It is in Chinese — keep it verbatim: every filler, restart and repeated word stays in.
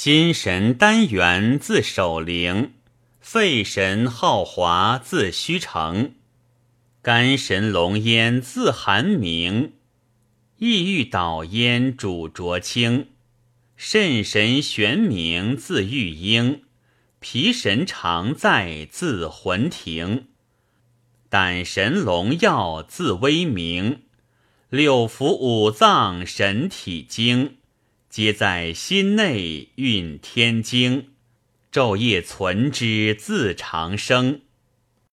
心神单元自守灵，肺神浩华自虚成，肝神龙烟自寒明，意欲导烟主浊清，肾神玄冥自玉英，脾神常在自魂庭，胆神龙耀自威明，六腑五脏神体经，皆在心内运天经，昼夜存之自长生。